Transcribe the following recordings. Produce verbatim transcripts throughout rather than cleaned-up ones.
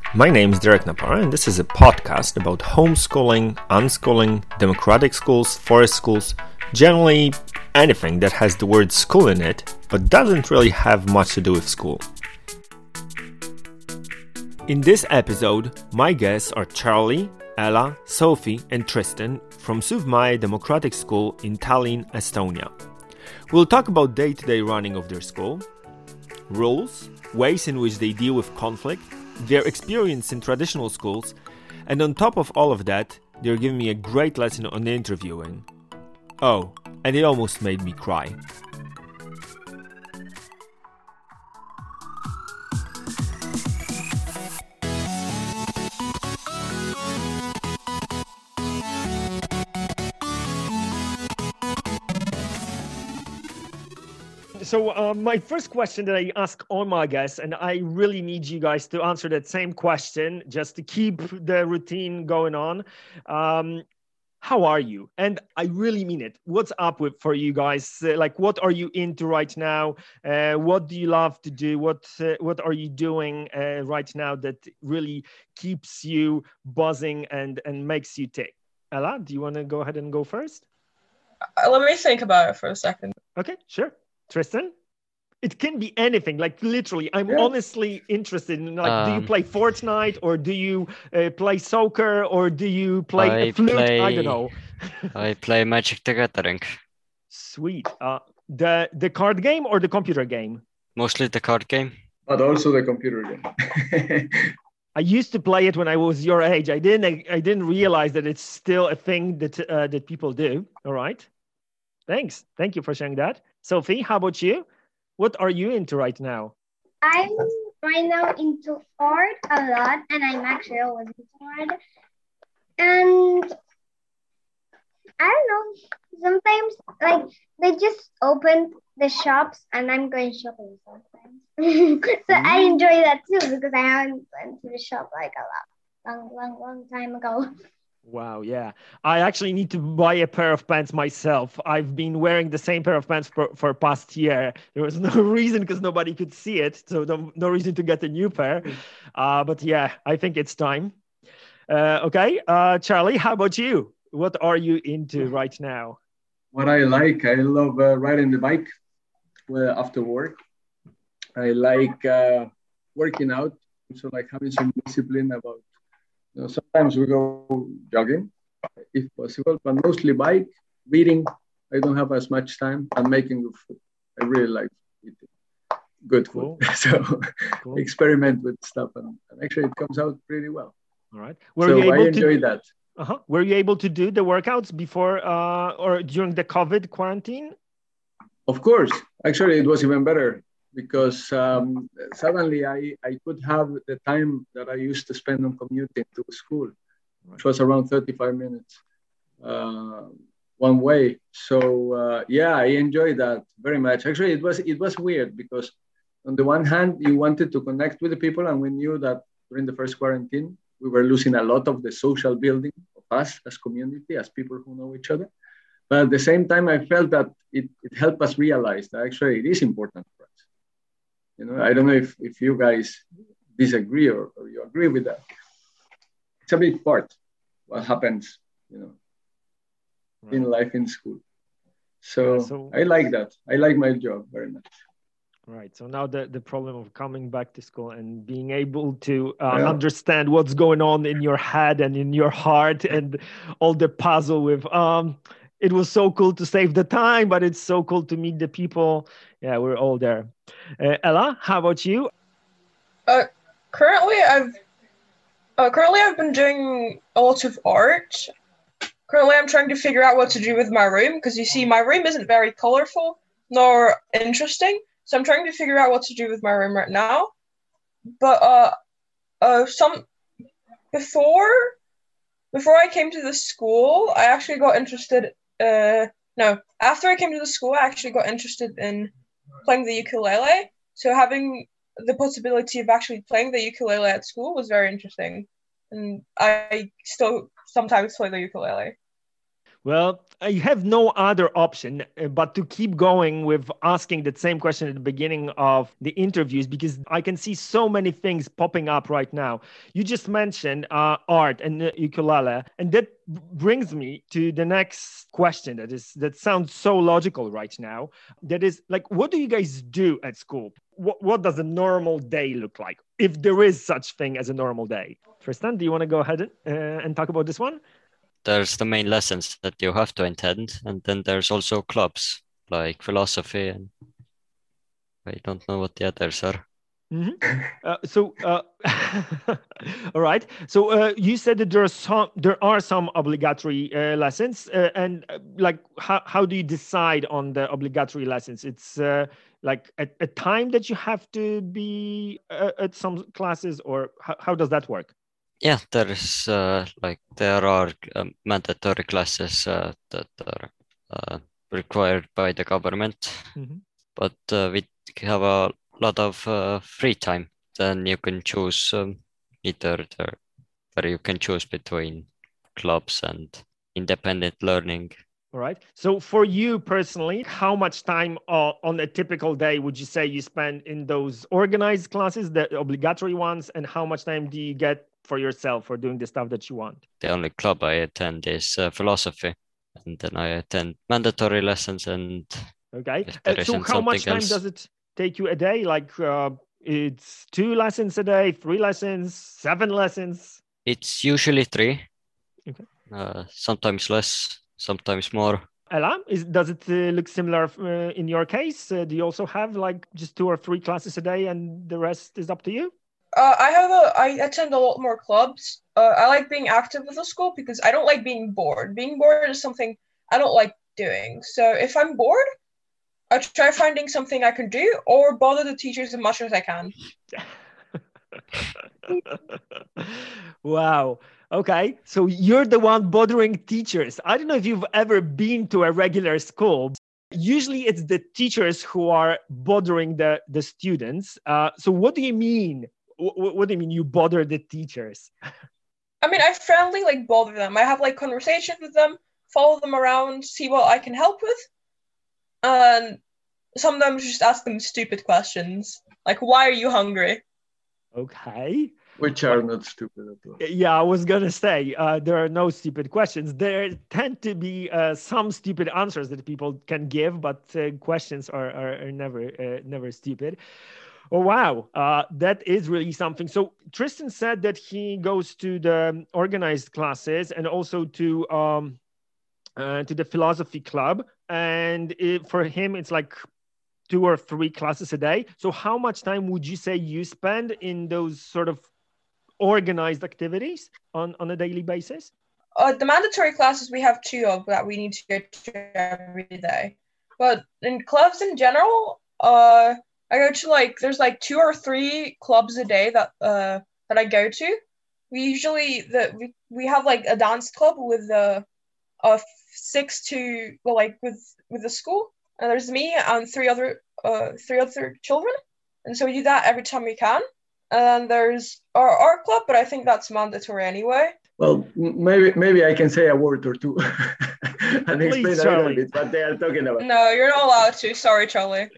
My name is Derek Napara, and this is a podcast about homeschooling, unschooling, democratic schools, forest schools, generally anything that has the word school in it, but doesn't really have much to do with school. In this episode, my guests are Charlie, Ella, Sophie, and Tristan from Suvmaja Democratic School in Tallinn, Estonia. We'll talk about day-to-day running of their school, rules, ways in which they deal with conflict, their experience in traditional schools, and on top of all of that, they're giving me a great lesson on interviewing. Oh, and it almost made me cry. So uh, my first question that I ask all my guests, and I really need you guys to answer that same question just to keep the routine going on. Um, how are you? And I really mean it. What's up with for you guys? Uh, like, what are you into right now? Uh, what do you love to do? What uh, what are you doing uh, right now that really keeps you buzzing and, and makes you tick? Ella, do you want to go ahead and go first? Uh, let me think about it for a second. Okay, sure. Tristan? It can be anything, like literally. I'm yeah. honestly interested in, like, um, do you Um, play Fortnite or do you uh, play soccer or do you play I a flute? play- I don't know. I play Magic the Gathering. Sweet. Uh, the the card game or the computer game? Mostly the card game. But also the computer game. I used to play it when I was your age. I didn't. I didn't realize that it's still a thing that uh, that people do. All right. Thanks. Thank you for sharing that. Sophie, how about you? What are you into right now? I'm right now into art a lot, and I'm actually always into art. And I don't know, sometimes like they just open the shops and I'm going shopping sometimes. So I enjoy that too because I haven't went to the shop like a lot, long, long, long time ago. Wow, yeah. I actually need to buy a pair of pants myself. I've been wearing the same pair of pants for, for past year. There was no reason because nobody could see it. So no, no reason to get a new pair. Uh, but yeah, I think it's time. Uh, okay, uh, Charlie, how about you? What are you into right now? What I like, I love uh, riding the bike well, after work. I like uh, working out. So like having some discipline about You know, sometimes we go jogging, if possible, but mostly bike, reading. I don't have as much time. I'm making good food. I really like eating good food. Cool. So Cool. experiment with stuff, and, and actually it comes out pretty well. All right. Were so you I able enjoy to, that. Uh-huh. Were you able to do the workouts before uh, or during the COVID quarantine? Of course. Actually, it was even better because um, suddenly I, I could have the time that I used to spend on commuting to school, which was around thirty-five minutes uh, one way. So uh, yeah, I enjoyed that very much. Actually, it was it was weird because on the one hand, you wanted to connect with the people, and we knew that during the first quarantine, we were losing a lot of the social building of us as community, as people who know each other. But at the same time, I felt that it, it helped us realize that actually it is important for us. You know, I don't know if, if you guys disagree or, or you agree with that. It's a big part what happens, you know, right. in life in school. So, yeah, so I like that. I like my job very much. Right. So now the, the problem of coming back to school and being able to uh, yeah. understand what's going on in your head and in your heart and all the puzzle with, um, it was so cool to save the time, but it's so cool to meet the people. Yeah, we're all there. Uh, Ella, how about you? Uh, currently, I've uh, currently I've been doing a lot of art. Currently, I'm trying to figure out what to do with my room because you see, my room isn't very colorful nor interesting. So I'm trying to figure out what to do with my room right now. But uh, uh, some before before I came to the school, I actually got interested. Uh, no, after I came to the school, I actually got interested in playing the ukulele. So having the possibility of actually playing the ukulele at school was very interesting. And I still sometimes play the ukulele. Well, I have no other option uh, but to keep going with asking the same question at the beginning of the interviews, because I can see so many things popping up right now. You just mentioned uh, art and uh, ukulele, and that b- brings me to the next question that is that sounds so logical right now. That is like, what do you guys do at school? What, what does a normal day look like, if there is such thing as a normal day? Tristan, do you want to go ahead and, uh, and talk about this one? There's the main lessons that you have to attend, and then there's also clubs like philosophy, and I don't know what the others are. Mhm. Uh, so, uh, all right. So uh, you said that there are some there are some obligatory uh, lessons, uh, and uh, like how how do you decide on the obligatory lessons? It's uh, like a, a time that you have to be uh, at some classes, or how, how does that work? Yeah, there's uh, like there are um, mandatory classes uh, that are uh, required by the government, Mhm. but uh, we have a lot of uh, free time. Then you can choose um, either the, where you can choose between clubs and independent learning. All right. So for you personally, how much time uh, on a typical day would you say you spend in those organized classes, the obligatory ones, and how much time do you get for yourself for doing the stuff that you want? The only club I attend is uh, philosophy, and then I attend mandatory lessons, and Okay. if Uh, there so isn't how much something time else, does it take you a day? Like uh, it's two lessons a day, three lessons, seven lessons? it's usually three. Okay. Uh, sometimes less, sometimes more. Ella, is, does it uh, look similar uh, in your case? Uh, do you also have like just two or three classes a day and the rest is up to you? Uh, I have a I attend a lot more clubs. Uh, I like being active with the school because I don't like being bored. Being bored is something I don't like doing. So if I'm bored, I try finding something I can do or bother the teachers as much as I can. Wow. Okay. So you're the one bothering teachers. I don't know if you've ever been to a regular school. Usually it's the teachers who are bothering the, the students. Uh, so what do you mean? What, what do you mean you bother the teachers? I mean, I friendly like bother them. I have like conversations with them, follow them around, see what I can help with, and sometimes just ask them stupid questions like, "Why are you hungry?" Okay. Which are not stupid at all. Yeah, I was gonna say uh, there are no stupid questions. There tend to be uh, some stupid answers that people can give, but uh, questions are, are, are never uh, never stupid. Oh wow, uh, that is really something. So Tristan said that he goes to the organized classes and also to um, uh, to the philosophy club, and it, for him it's like two or three classes a day. So how much time would you say you spend in those sort of organized activities on, on a daily basis? Uh, the mandatory classes we have two of that we need to go to every day. But in clubs in general, uh, I go to like there's like two or three clubs a day that uh that I go to. We usually the we, we have like a dance club with the uh six to well like with with the school, and there's me and three other uh three other children, and so we do that every time we can. And there's our art club, but I think that's mandatory anyway. Well, maybe maybe I can say a word or two and Please, explain a Charlie. little bit what they are talking about. No, you're not allowed to. Sorry, Charlie.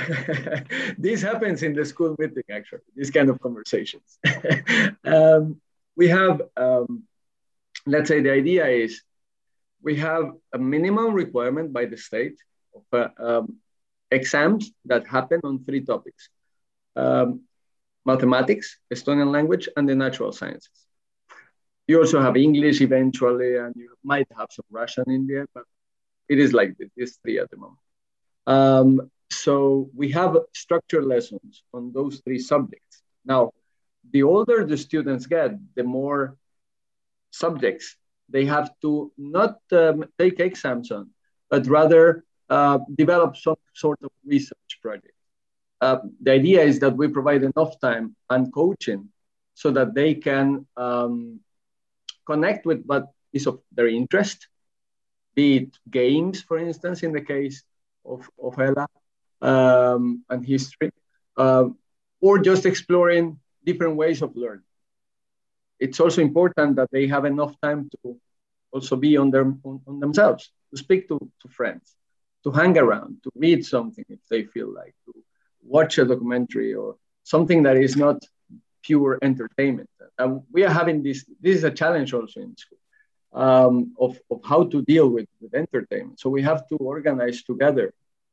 This happens in the school meeting, actually, these kind of conversations. um, we have, um, let's say the idea is we have a minimum requirement by the state of uh, um, exams that happen on three topics. Um, mathematics, Estonian language, and the natural sciences. You also have English eventually, and you might have some Russian in there, but it is like this, these three at the moment. Um, so we have structured lessons on those three subjects. Now, the older the students get, the more subjects they have to not um, take exams on, but rather uh, develop some sort of research project. Uh, the idea is that we provide enough time and coaching so that they can um, connect with what is of their interest, be it games, for instance, in the case of, of Ella, um, and history, uh, or just exploring different ways of learning. It's also important that they have enough time to also be on, their, on, on themselves, to speak to, to friends, to hang around, to read something if they feel like, to watch a documentary or something that is not pure entertainment. And we are having this, this is a challenge also in school, um, of, of how to deal with, with entertainment. So we have to organize together.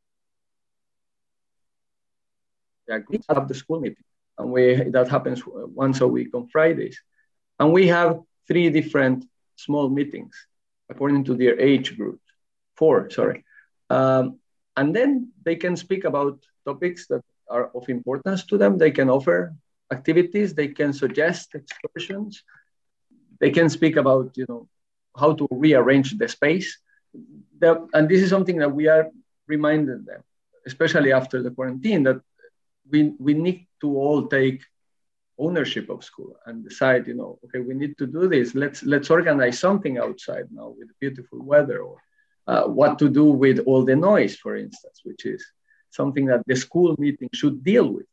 We agree to have the school meeting, and we, that happens once a week on Fridays. And we have three different small meetings according to their age group, four, sorry. Um, and then they can speak about topics that are of importance to them. They can offer activities, they can suggest excursions, they can speak about, you know, how to rearrange the space. The, and this is something that we are reminding them, especially after the quarantine, that we, we need to all take ownership of school and decide, you know, okay, we need to do this. Let's, let's organize something outside now with beautiful weather, or uh, what to do with all the noise, for instance, which is something that the school meeting should deal with.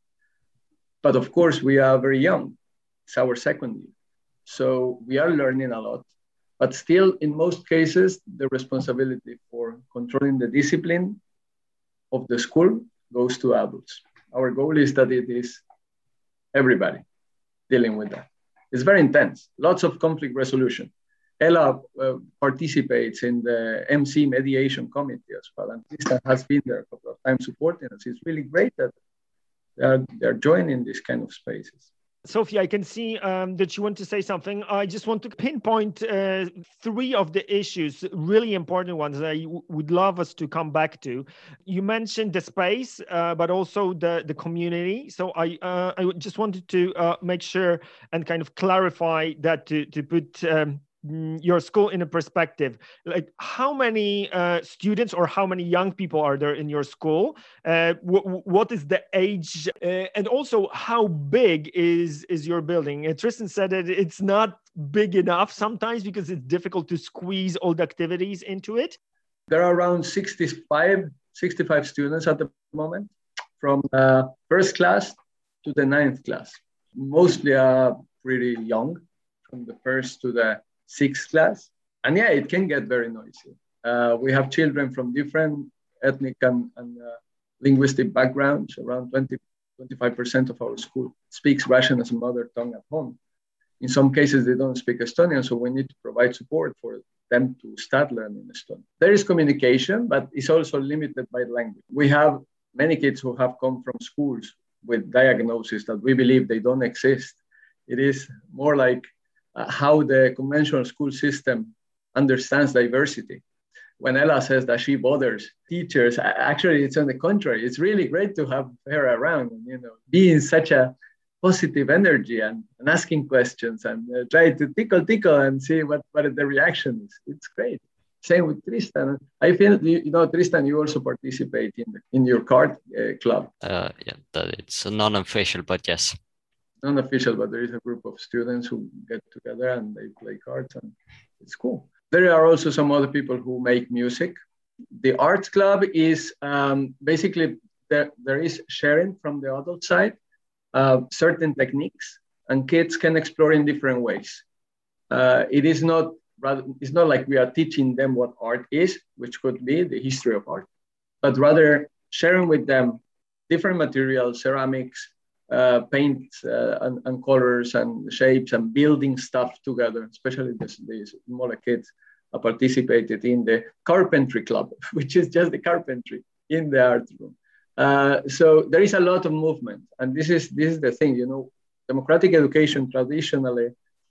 But of course, we are very young. It's our second year. So we are learning a lot. But still, in most cases, the responsibility for controlling the discipline of the school goes to adults. Our goal is that it is everybody dealing with that. It's very intense, lots of conflict resolution. Ella uh, participates in the M C mediation committee as well, and Tristan has been there a couple of times supporting us. It's really great that they're, they're joining these kind of spaces. Sophie, I can see um, that you want to say something. I just want to pinpoint uh, three of the issues, really important ones that I w- would love us to come back to. You mentioned the space, uh, but also the, the community. So I uh, I just wanted to uh, make sure and kind of clarify that to, to put um, your school in a perspective. Like, how many uh, students or how many young people are there in your school? Uh, w- what is the age? Uh, and also, how big is, is your building? Uh, Tristan said that it's not big enough sometimes because it's difficult to squeeze all the activities into it. There are around sixty-five, sixty-five students at the moment, from uh, first class to the ninth class. Mostly are pretty young, from the first to the sixth class. And yeah, it can get very noisy. Uh, we have children from different ethnic and, and uh, linguistic backgrounds. Around twenty, twenty-five percent of our school speaks Russian as a mother tongue at home. In some cases, they don't speak Estonian, so we need to provide support for them to start learning Estonian. There is communication, but it's also limited by language. We have many kids who have come from schools with diagnoses that we believe they don't exist. It is more like Uh, how the conventional school system understands diversity. When Ella says that she bothers teachers, actually it's on the contrary. It's really great to have her around and, you know, be in such a positive energy and, and asking questions and uh, try to tickle, tickle and see what, what the reaction is. It's great. Same with Tristan. I feel, you, you know, Tristan, you also participate in, the, in your card uh, club. Uh, yeah, that it's non-official, but yes. Non-official, but there is a group of students who get together and they play cards, and it's cool. There are also some other people who make music. The arts club is um, basically, there, there is sharing from the adult side, uh, certain techniques, and kids can explore in different ways. Uh, it is not, rather, it's not like we are teaching them what art is, which could be the history of art, but rather sharing with them different materials, ceramics, Uh, paint uh, and, and colors and shapes, and building stuff together, especially these, these smaller kids uh, participated in the carpentry club, which is just the carpentry in the art room. Uh, so there is a lot of movement. And this is, this is the thing, you know, democratic education traditionally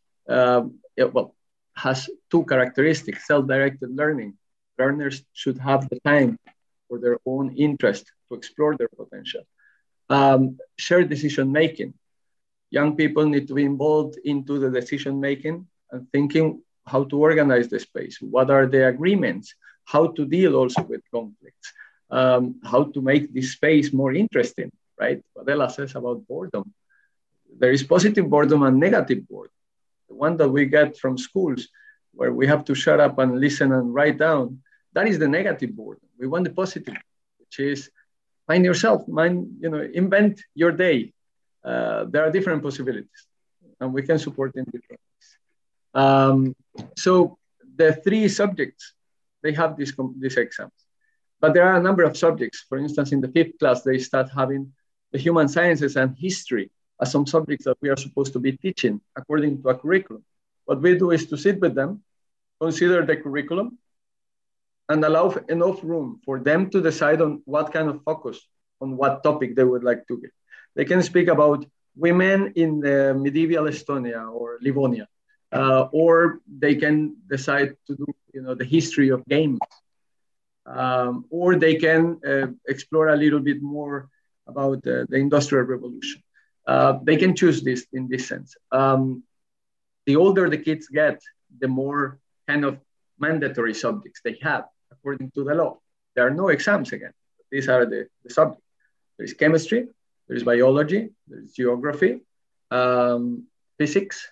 uh, it, well, has two characteristics: self-directed learning. Learners should have the time for their own interest to explore their potential. Um, shared decision making. Young people need to be involved into the decision making and thinking how to organize the space. What are the agreements? How to deal also with conflicts? Um, how to make this space more interesting, right? What Ella says about boredom. There is positive boredom and negative boredom. The one that we get from schools where we have to shut up and listen and write down, that is the negative boredom. We want the positive, which is find yourself, mind, you know, invent your day. Uh, there are different possibilities, and we can support in different ways. Um, so the three subjects, they have these, these exams. But there are a number of subjects. For instance, in the fifth class, they start having the human sciences and history as some subjects that we are supposed to be teaching according to a curriculum. What we do is to sit with them, consider the curriculum, and allow enough room for them to decide on what kind of focus on what topic they would like to give. They can speak about women in the medieval Estonia or Livonia, uh, or they can decide to do, you know, the history of games. Um, or they can uh, explore a little bit more about uh, the Industrial Revolution. Uh, they can choose this in this sense. Um, the older the kids get, the more kind of mandatory subjects they have according to the law. There are no exams again. These are the, the subjects. There is chemistry, there is biology, there is geography, um, physics,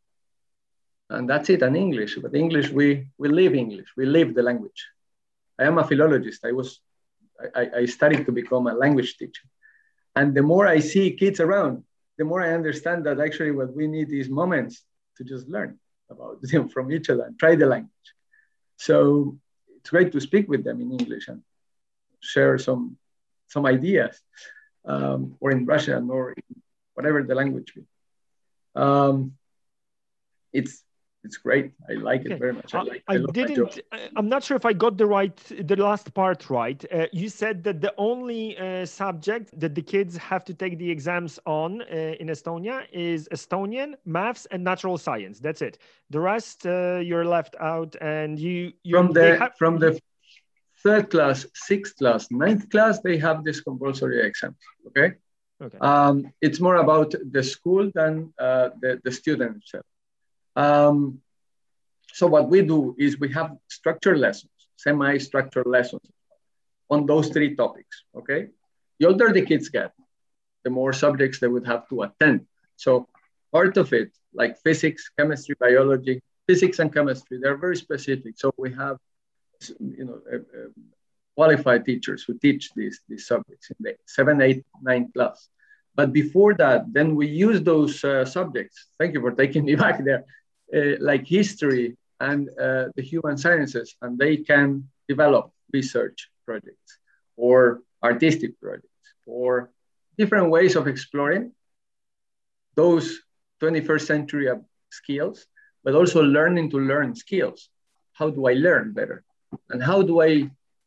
and that's it, and English. But English, we, we live English, we live the language. I am a philologist. I was, I, I studied to become a language teacher. And the more I see kids around, the more I understand that actually what we need is moments to just learn about them from each other and try the language. So it's great to speak with them in English and share some, some ideas, um, or in Russian or in whatever the language be. Um, it's, It's great. I like okay. it very much. I, like, I, I didn't, I'm not sure if I got the right, the last part right. Uh, you said that the only uh, subject that the kids have to take the exams on uh, in Estonia is Estonian, maths, and natural science. That's it. The rest, uh, you're left out, and you, you from the have, from the third class, sixth class, ninth class, they have this compulsory exams. Okay. Okay. Um, it's more about the school than uh, the the student itself. Um, so what we do is we have structured lessons, semi-structured lessons on those three topics, okay? The older the kids get, the more subjects they would have to attend. So part of it, like physics, chemistry, biology, physics and chemistry, they're very specific. So we have, you know, uh, uh, qualified teachers who teach these, these subjects in the seven, eight, nine class. But before that, then we use those uh, subjects. Thank you for taking me back there. Uh, like history and uh, the human sciences, and they can develop research projects or artistic projects or different ways of exploring those twenty-first century skills, but also learning to learn skills. How do I learn better? And how do I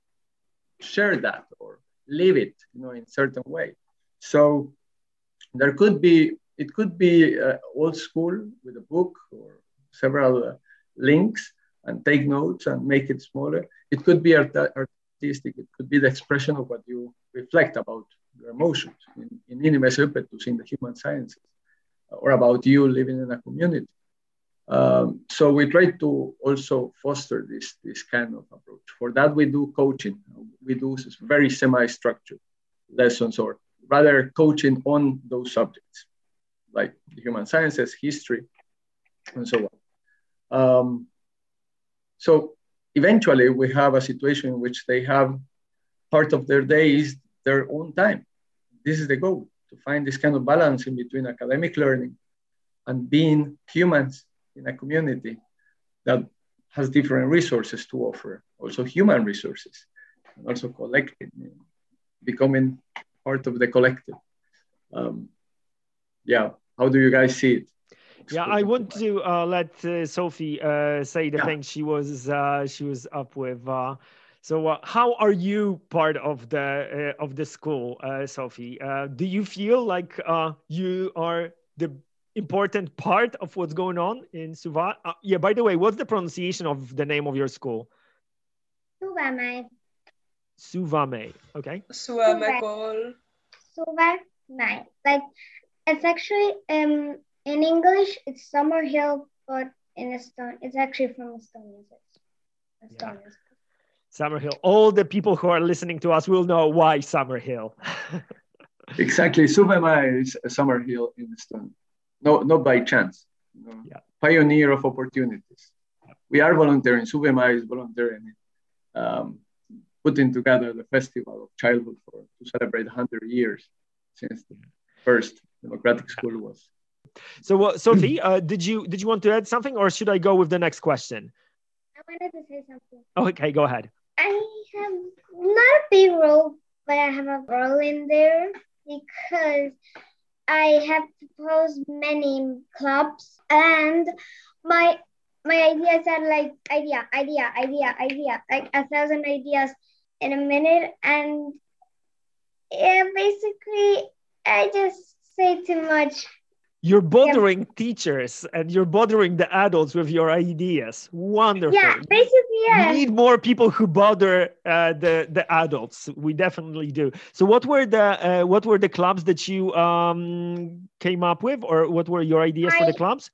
share that or live it, you know, in a certain way? So there could be, it could be uh, old school with a book or several uh, links and take notes and make it smaller. It could be art artistic. It could be the expression of what you reflect about your emotions in, in Inimese õpetus in the human sciences, or about you living in a community. Um, so we try to also foster this, this kind of approach. For that, we do coaching. We do very semi-structured lessons, or rather coaching on those subjects, like the human sciences, history, and so on. Um, so eventually we have a situation in which they have part of their day is their own time. This is the goal, to find this kind of balance in between academic learning and being humans in a community that has different resources to offer, also human resources, and also collective, becoming part of the collective. Um, yeah, how do you guys see it? Yeah, I want to uh, let uh, Sophie uh, say the yeah. thing she was uh, she was up with. Uh, so, uh, how are you part of the uh, of the school, uh, Sophie? Uh, do you feel like uh, you are the important part of what's going on in Suva? Uh, yeah. By the way, what's the pronunciation of the name of your school? Suvamäe. Suvamäe. Okay. Suvamäe kool. Suvamäe. Like it's actually um. In English, it's Summer Hill, but in Estonia, it's actually from Estonia. Estonia. Yeah. Summer Hill. All the people who are listening to us will know why Summer Hill. Exactly. Suvamäe is a Summer Hill in Estonia. No, not by chance. You know, yeah. Pioneer of opportunities. We are volunteering. Suvamäe is volunteering, um, putting together the Festival of Childhood for, to celebrate one hundred years since the first democratic school was. So, uh, Sophie, uh, did you did you want to add something, or should I go with the next question? I wanted to say something. Okay, go ahead. I have not a big role, but I have a role in there because I have proposed many clubs, and my my ideas are like idea, idea, idea, idea, like a thousand ideas in a minute, and yeah, basically I just say too much. You're bothering yeah. teachers and you're bothering the adults with your ideas. Wonderful. Yeah, basically, yeah. We need more people who bother uh, the the adults. We definitely do. So, what were the uh, what were the clubs that you um, came up with, or what were your ideas I, for the clubs?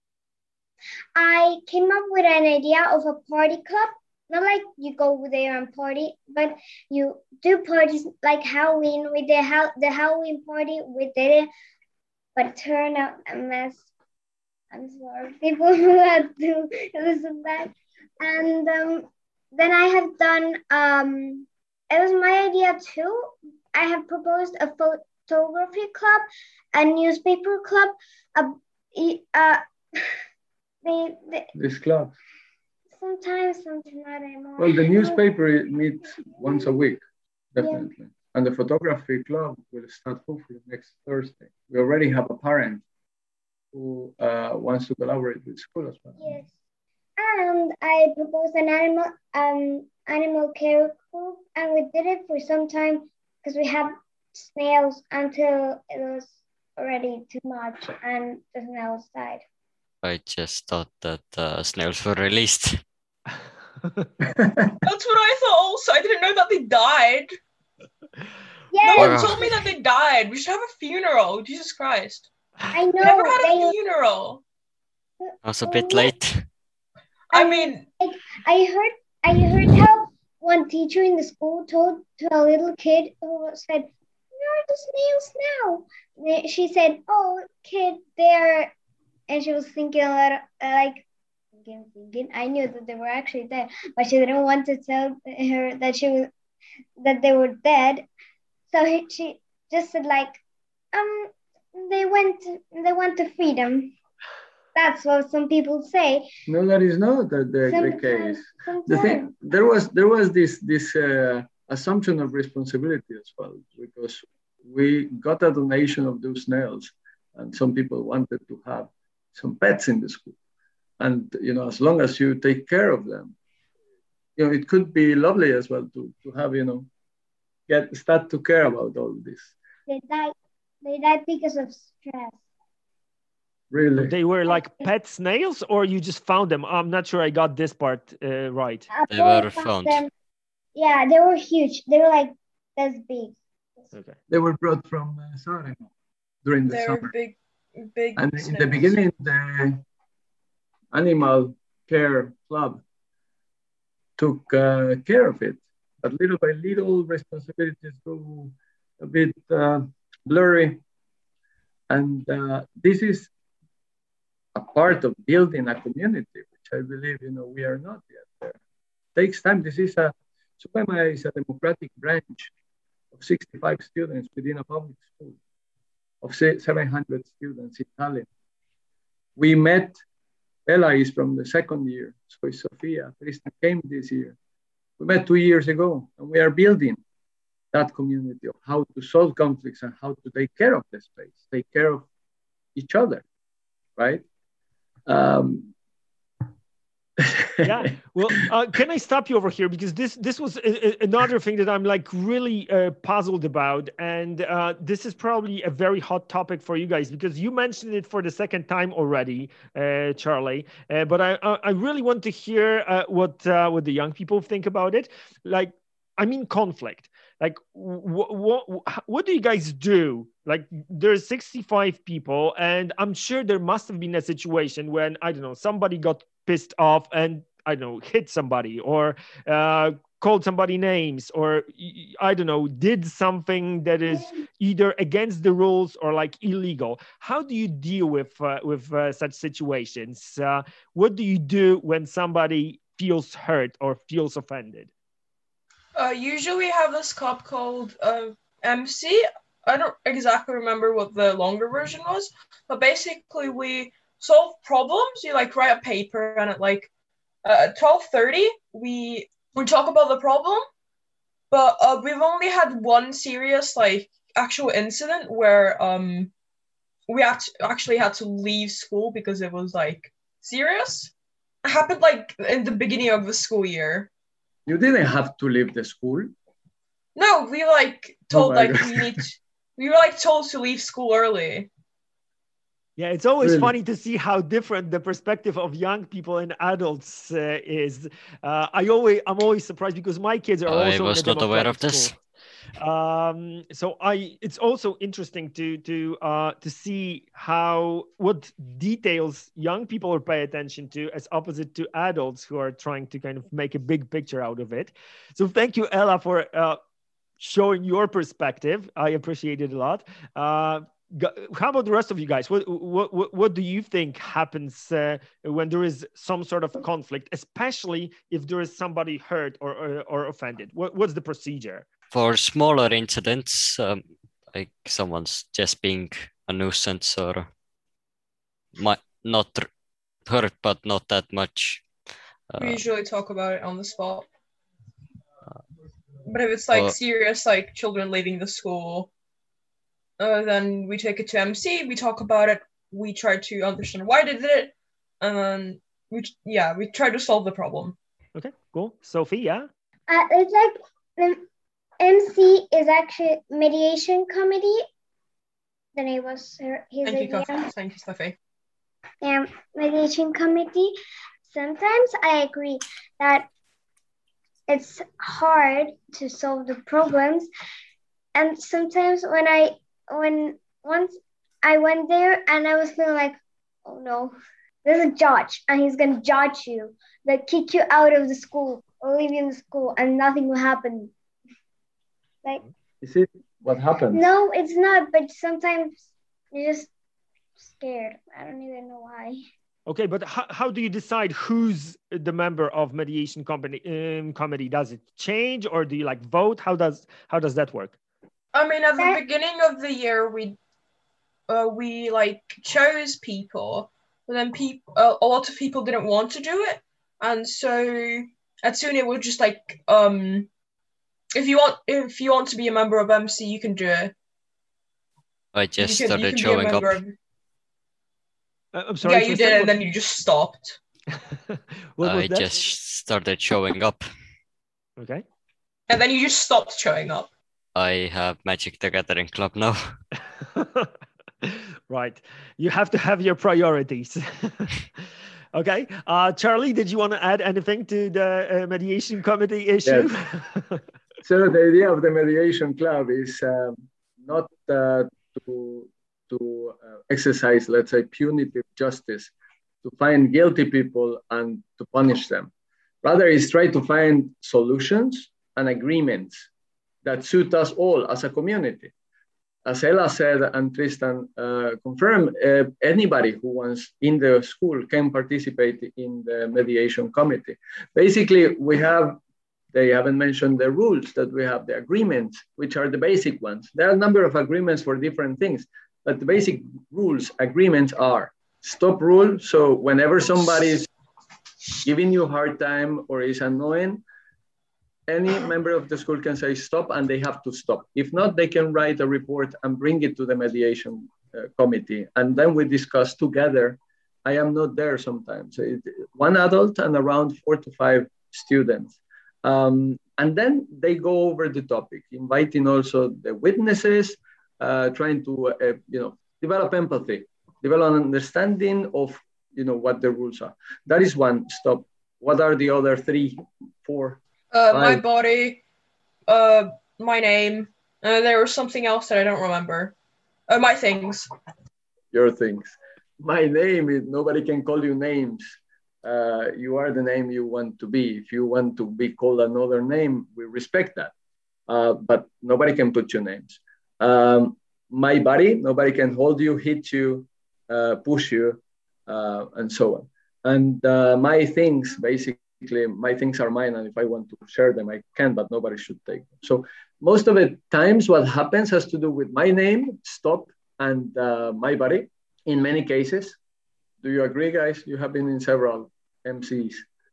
I came up with an idea of a party club. Not like you go there and party, but you do parties like Halloween. We did ha- the Halloween party. We did it. But it turned out a mess. I'm sorry, people who had to listen to that. And um, then I have done, um, it was my idea too. I have proposed a photography club, a newspaper club, a, uh, they, they, this club. Sometimes, sometimes not anymore. Well, the newspaper meets once a week, definitely. Yeah. And the photography club will start hopefully next Thursday. We already have a parent who uh, wants to collaborate with school as well. Yes. And I proposed an animal um animal care group, and we did it for some time because we had snails until it was already too much and the snails died. I just thought that uh, snails were released. That's what I thought also. I didn't know that they died. Yeah. No one told me that they died. We should have a funeral. Jesus Christ. I know. Never had a they... funeral. I was a bit late. I mean, I heard I heard how one teacher in the school told to a little kid who said, "Where are the snails now?" She said, "Oh, kid, they're," and she was thinking a lot, like, thinking, thinking. I knew that they were actually there, but she didn't want to tell her that she was that they were dead. So he, she just said like, um, they went they went to freedom. That's what some people say. No, that is not the, the, the case. Sometimes. The thing there was there was this this uh, assumption of responsibility as well, because we got a donation of those snails, and some people wanted to have some pets in the school, and you know, as long as you take care of them, you know, it could be lovely as well to to have, you know, get start to care about all this. They died. They died because of stress. Really? They were like pet snails, or you just found them? I'm not sure I got this part uh, right. They were found. Them. Yeah, they were huge. They were like this big. Okay. They were brought from uh, Saaremaa during the they summer. Were big, big. And snails. In the beginning, the animal care club took uh, care of it, but little by little, responsibilities go a bit uh, blurry, and uh, this is a part of building a community, which I believe, you know, we are not yet there. It takes time. This is a, Saaremaa is a democratic branch of sixty-five students within a public school of seven hundred students in Tallinn. We met, Ella is from the second year, so is Sophia, Krista came this year. We met two years ago, and we are building that community of how to solve conflicts and how to take care of the space, take care of each other, right? Um, yeah. Well, uh, can I stop you over here, because this this was a, a, another thing that I'm like really uh, puzzled about, and uh, this is probably a very hot topic for you guys, because you mentioned it for the second time already, uh, Charlie. Uh, but I I really want to hear uh, what uh, what the young people think about it. Like, I mean, conflict. Like, what what what do you guys do? Like, there's sixty-five people, and I'm sure there must have been a situation when, I don't know, somebody got pissed off and, I don't know, hit somebody, or uh, called somebody names, or, I don't know, did something that is either against the rules or like illegal. How do you deal with uh, with uh, such situations? Uh, what do you do when somebody feels hurt or feels offended? Uh, usually we have this club called uh, M C. I don't exactly remember what the longer version was, but basically we solve problems. You like write a paper and it like Uh, at twelve thirty, we we talk about the problem, but uh, we've only had one serious like actual incident where um we act- actually had to leave school because it was like serious. It happened like in the beginning of the school year. You didn't have to leave the school. No, we like Oh told my like God. we need to, we were like told to leave school early. Yeah, it's always Really? funny to see how different the perspective of young people and adults uh, is. Uh, I always, I'm always surprised because my kids are I also in a was not aware of democratic this. school. Um, so I, it's also interesting to to uh, to see how what details young people are pay attention to, as opposite to adults who are trying to kind of make a big picture out of it. So thank you, Ella, for uh, showing your perspective. I appreciate it a lot. Uh, Gu- how about the rest of you guys? What what what, what do you think happens uh, when there is some sort of conflict, especially if there is somebody hurt or or, or offended? What, what's the procedure? For smaller incidents, um, like someone's just being a nuisance or might not r- hurt, but not that much. We Uh, usually talk about it on the spot. But if it's like or serious, like children leaving the school, uh, then we take it to M C. We talk about it. We try to understand why they did it, and then we yeah we try to solve the problem. Okay, cool. Sophie, yeah. Uh, it's like the M C is actually mediation committee. The name was her, his Thank you, idea. Kath- thank you, Sophie. Yeah, mediation committee. Sometimes I agree that it's hard to solve the problems, and sometimes when I when once I went there and I was feeling like, oh no, there's a judge and he's gonna judge you, like kick you out of the school or leave you in the school and nothing will happen. Like, Is it what happened? no, it's not, but sometimes you're just scared. I don't even know why. Okay, but how, how do you decide who's the member of mediation company um, committee? Does it change, or do you like vote? How does how does that work? I mean, at the That- beginning of the year, we uh, we like chose people, but then people uh, a lot of people didn't want to do it, and so as soon it was just like um if you want if you want to be a member of M C, you can do it. I You just can, you started can be a showing up. member of. Uh, I'm sorry. Yeah, you Tristan, did, and what- then you just stopped. what was I that? just started showing up. Okay. And then you just stopped showing up. I have Magic the Gathering Club now. Right. You have to have your priorities. Okay. Uh, Charlie, did you want to add anything to the uh, mediation committee issue? So the idea of the mediation club is um, not uh, to to uh, exercise, let's say, punitive justice, to find guilty people and to punish them. Rather, is try to find solutions and agreements that suit us all as a community. As Ella said and Tristan uh, confirmed, uh, anybody who wants in the school can participate in the mediation committee. Basically, we have, they haven't mentioned the rules, that we have the agreements, which are the basic ones. There are a number of agreements for different things, but the basic rules, agreements are stop rule. So whenever somebody is giving you a hard time or is annoying, any member of the school can say stop and they have to stop. If not, they can write a report and bring it to the mediation uh, committee. And then we discuss together. I am not there sometimes. It, one adult and around four to five students. Um, and then they go over the topic, inviting also the witnesses, uh, trying to uh, you know, develop empathy, develop an understanding of you know, what the rules are. That is one stop. What are the other three, four? Uh, my Five. body, uh, my name. Uh, there was something else that I don't remember. Uh, my things. Your things. My name is, nobody can call you names. Uh, you are the name you want to be. If you want to be called another name, we respect that. Uh, but nobody can put your names. Um, my body, nobody can hold you, hit you, uh, push you, uh, and so on. And uh, my things, basically, my things are mine, and if I want to share them, I can, but nobody should take them. So most of the times what happens has to do with my name, stop, and uh, my body in many cases. Do you agree, guys? You have been in several M Cs.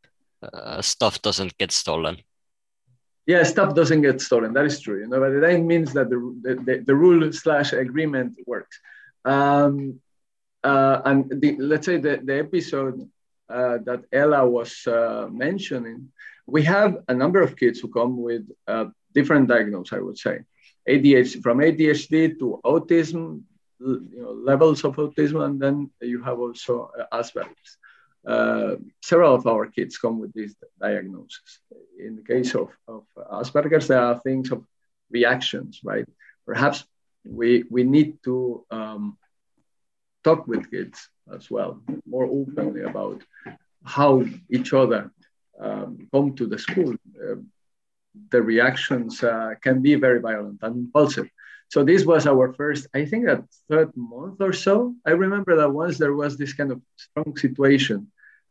uh, stuff doesn't get stolen. Yeah, stuff doesn't get stolen. That is true. You know, but that means that the the, the rule slash agreement works. Um, uh, and the, let's say the, the episode uh, that Ella was uh, mentioning, we have a number of kids who come with uh, different diagnoses, I would say. A D H D, from A D H D to autism, you know, levels of autism, and then you have also uh, Asperger's. Uh, several of our kids come with these diagnoses. In the case of, of Asperger's, there are things of reactions, right? Perhaps we, we need to um, talk with kids as well, more openly about how each other um, come to the school. Uh, the reactions uh, can be very violent and impulsive. So this was our first, I think that third month or so. I remember that once there was this kind of strong situation,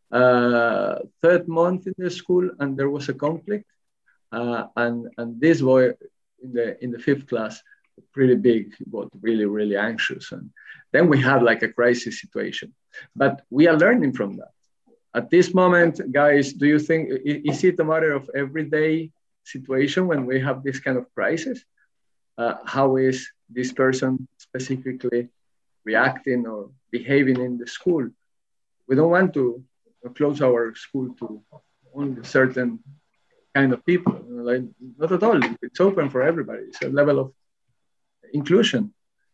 uh, third month in the school, and there was a conflict. Uh, and, and this boy in the, in the fifth class, pretty big, but really, really anxious. And then we had like a crisis situation. But we are learning from that. At this moment, guys, do you think, is it a matter of everyday situation when we have this kind of crisis? Uh, how is this person specifically reacting or behaving in the school? We don't want to close our school to only certain kind of people. Like, not at all. It's open for everybody. It's a level of inclusion.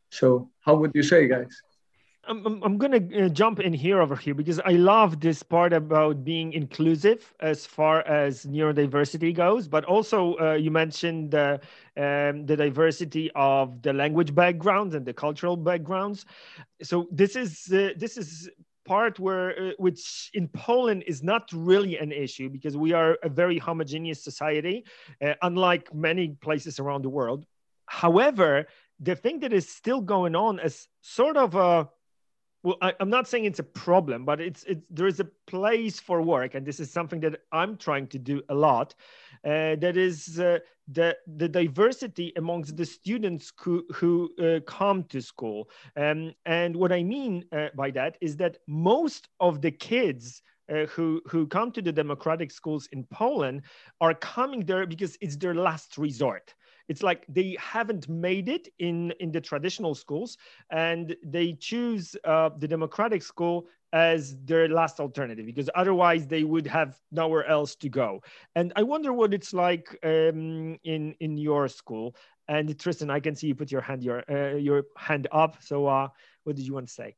So how would you say, guys? I'm, I'm, I'm going to uh, jump in here over here because I love this part about being inclusive as far as neurodiversity goes, but also uh, you mentioned uh, um, the diversity of the language backgrounds and the cultural backgrounds. So this is uh, this is part where uh, which in Poland is not really an issue because we are a very homogeneous society, uh, unlike many places around the world. However, the thing that is still going on is sort of a Well, I, I'm not saying it's a problem, but it's it's there is a place for work, and this is something that I'm trying to do a lot. Uh, that is uh, the the diversity amongst the students who who uh, come to school, um, and what I mean uh, by that is that most of the kids uh, who who come to the democratic schools in Poland are coming there because it's their last resort. It's like they haven't made it in, in the traditional schools, and they choose uh, the democratic school as their last alternative because otherwise they would have nowhere else to go. And I wonder what it's like um, in in your school. And Tristan, I can see you put your hand your uh, your hand up. So uh, what did you want to say?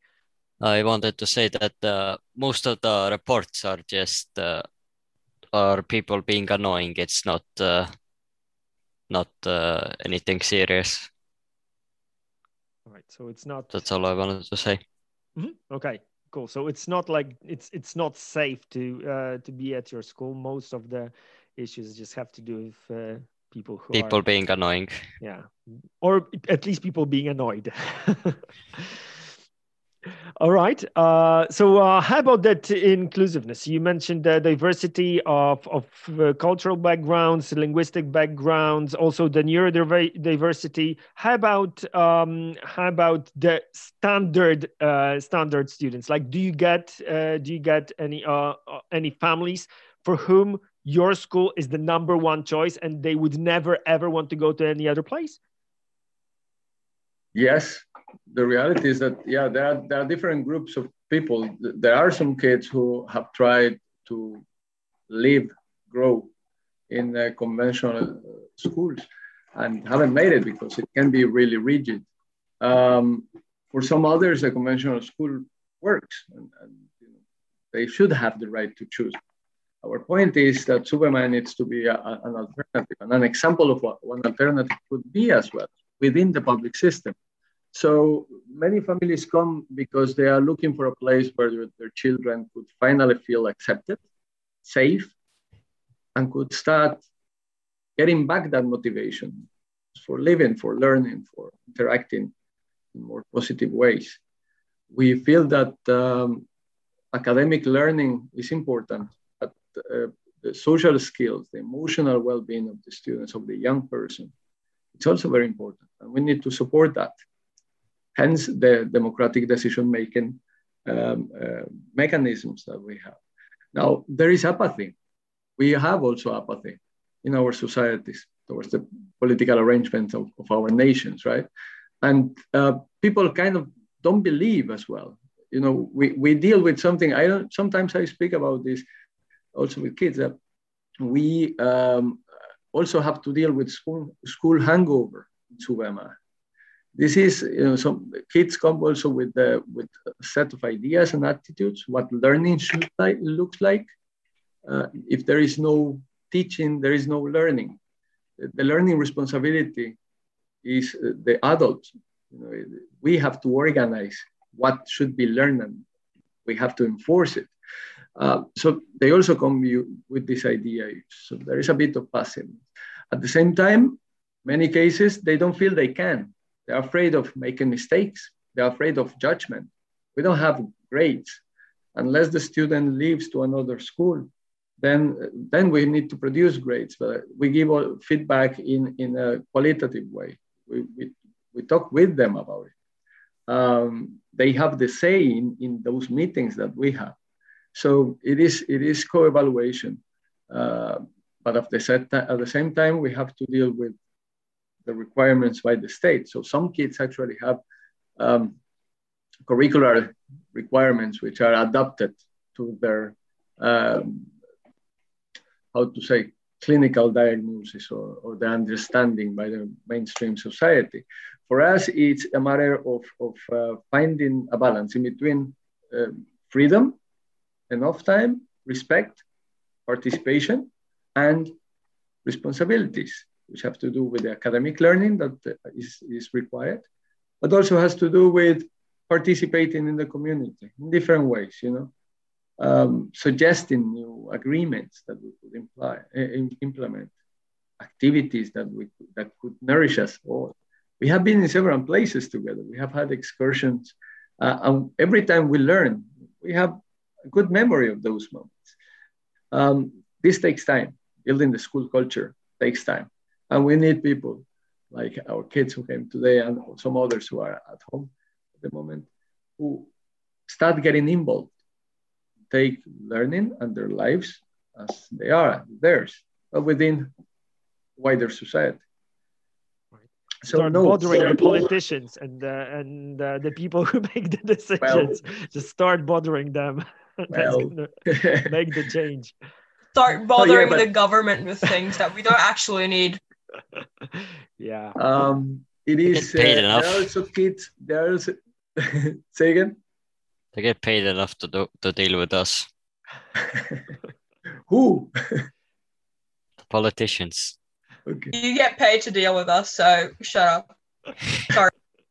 I wanted to say that uh, most of the reports are just uh, are people being annoying. It's not. Uh, Not uh, anything serious. All right, so it's not. That's all I wanted to say. Mm-hmm. Okay, cool. So it's not like it's it's not safe to uh, to be at your school. Most of the issues just have to do with uh, people who people are, being annoying. Yeah, or at least people being annoyed. All right. Uh, so uh, how about that inclusiveness? You mentioned the diversity of, of uh, cultural backgrounds, linguistic backgrounds, also the neurodiversity. How about um, how about the standard uh, standard students? Like, do you get uh, do you get any uh, any families for whom your school is the number one choice and they would never ever want to go to any other place? Yes. The reality is that, yeah, there are, there are different groups of people. There are some kids who have tried to live, grow in uh, conventional schools and haven't made it because it can be really rigid. Um, for some others, a conventional school works and, and you know, they should have the right to choose. Our point is that Superman needs to be a, a, an alternative, and an example of what one alternative could be as well within the public system. So many families come because they are looking for a place where their children could finally feel accepted, safe, and could start getting back that motivation for living, for learning, for interacting in more positive ways. We feel that um, academic learning is important, but uh, the social skills, the emotional well-being of the students, of the young person, it's also very important, and we need to support that. Hence the democratic decision-making um, uh, mechanisms that we have. Now, there is apathy. we have also apathy in our societies towards the political arrangements of, of our nations, right? And uh, people kind of don't believe as well. You know, we, we deal with something, I don't, sometimes I speak about this also with kids, that we um, also have to deal with school, school hangover in Suvema. This is, you know, some kids come also with, the, with a set of ideas and attitudes, what learning should like, looks like. Uh, if there is no teaching, there is no learning. The learning responsibility is the adults. You know, we have to organize what should be learned and we have to enforce it. Uh, so they also come with this idea. So there is a bit of passiveness. At the same time, many cases, they don't feel they can. They're afraid of making mistakes. They're afraid of judgment. We don't have grades. Unless the student leaves to another school, then, then we need to produce grades. But we give all feedback in, in a qualitative way. We, we, we talk with them about it. Um, they have the say in, in those meetings that we have. So it is, it is co-evaluation. Uh, but at the, set, at the same time, we have to deal with the requirements by the state. So some kids actually have um, curricular requirements which are adapted to their, um, how to say, clinical diagnosis or, or the understanding by the mainstream society. For us, it's a matter of, of uh, finding a balance in between uh, freedom, enough time, respect, participation, and responsibilities, which have to do with the academic learning that is, is required, but also has to do with participating in the community in different ways, you know, um, suggesting new agreements that we could imply, uh, implement, activities that, we, that could nourish us all. We have been in several places together. We have had excursions, uh, and every time we learn, we have a good memory of those moments. Um, this takes time. Building the school culture takes time. And we need people like our kids who came today and some others who are at home at the moment who start getting involved, take learning and their lives as they are, theirs, but within wider society. Right. So start no, bothering so, the politicians and, uh, and uh, the people who make the decisions. Well, just start bothering them. That's well, gonna make the change. Start bothering oh, yeah, but, the government with things that we don't actually need. Yeah. Um, it is. Paid Uh, enough. there are also kids. There are also, say again. They get paid enough to do, to deal with us. Who? The politicians. Okay. You get paid to deal with us, so shut up. Sorry.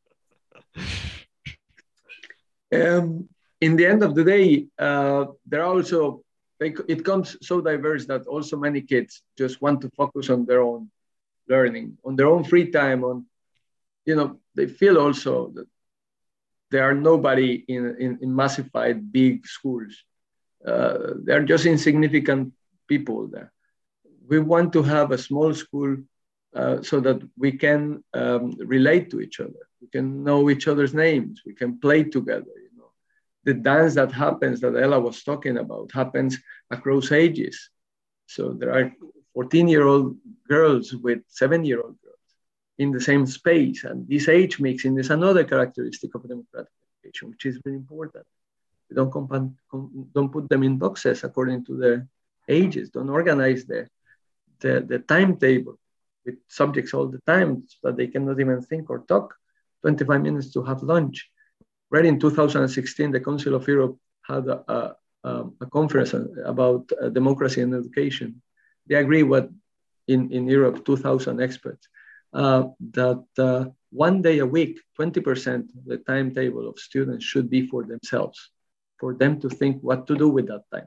Um, in the end of the day, uh, there are also. They, it comes so diverse that also many kids just want to focus on their own learning, on their own free time. On, you know, they feel also that there are nobody in, in, in massified big schools. Uh, they're just insignificant people there. We want to have a small school uh, so that we can um, relate to each other. We can know each other's names. We can play together. The dance that happens, that Ella was talking about, happens across ages. So there are fourteen-year-old girls with seven-year-old girls in the same space. And this age mixing is another characteristic of democratic education, which is very important. We don't, comp- don't put them in boxes according to their ages. Don't organize the, the, the timetable with subjects all the time so that they cannot even think or talk. twenty-five minutes to have lunch. Right in two thousand sixteen, the Council of Europe had a, a, a conference about uh, democracy and education. They agree with, in, in Europe, two thousand experts, uh, that uh, one day a week, twenty percent of the timetable of students should be for themselves, for them to think what to do with that time.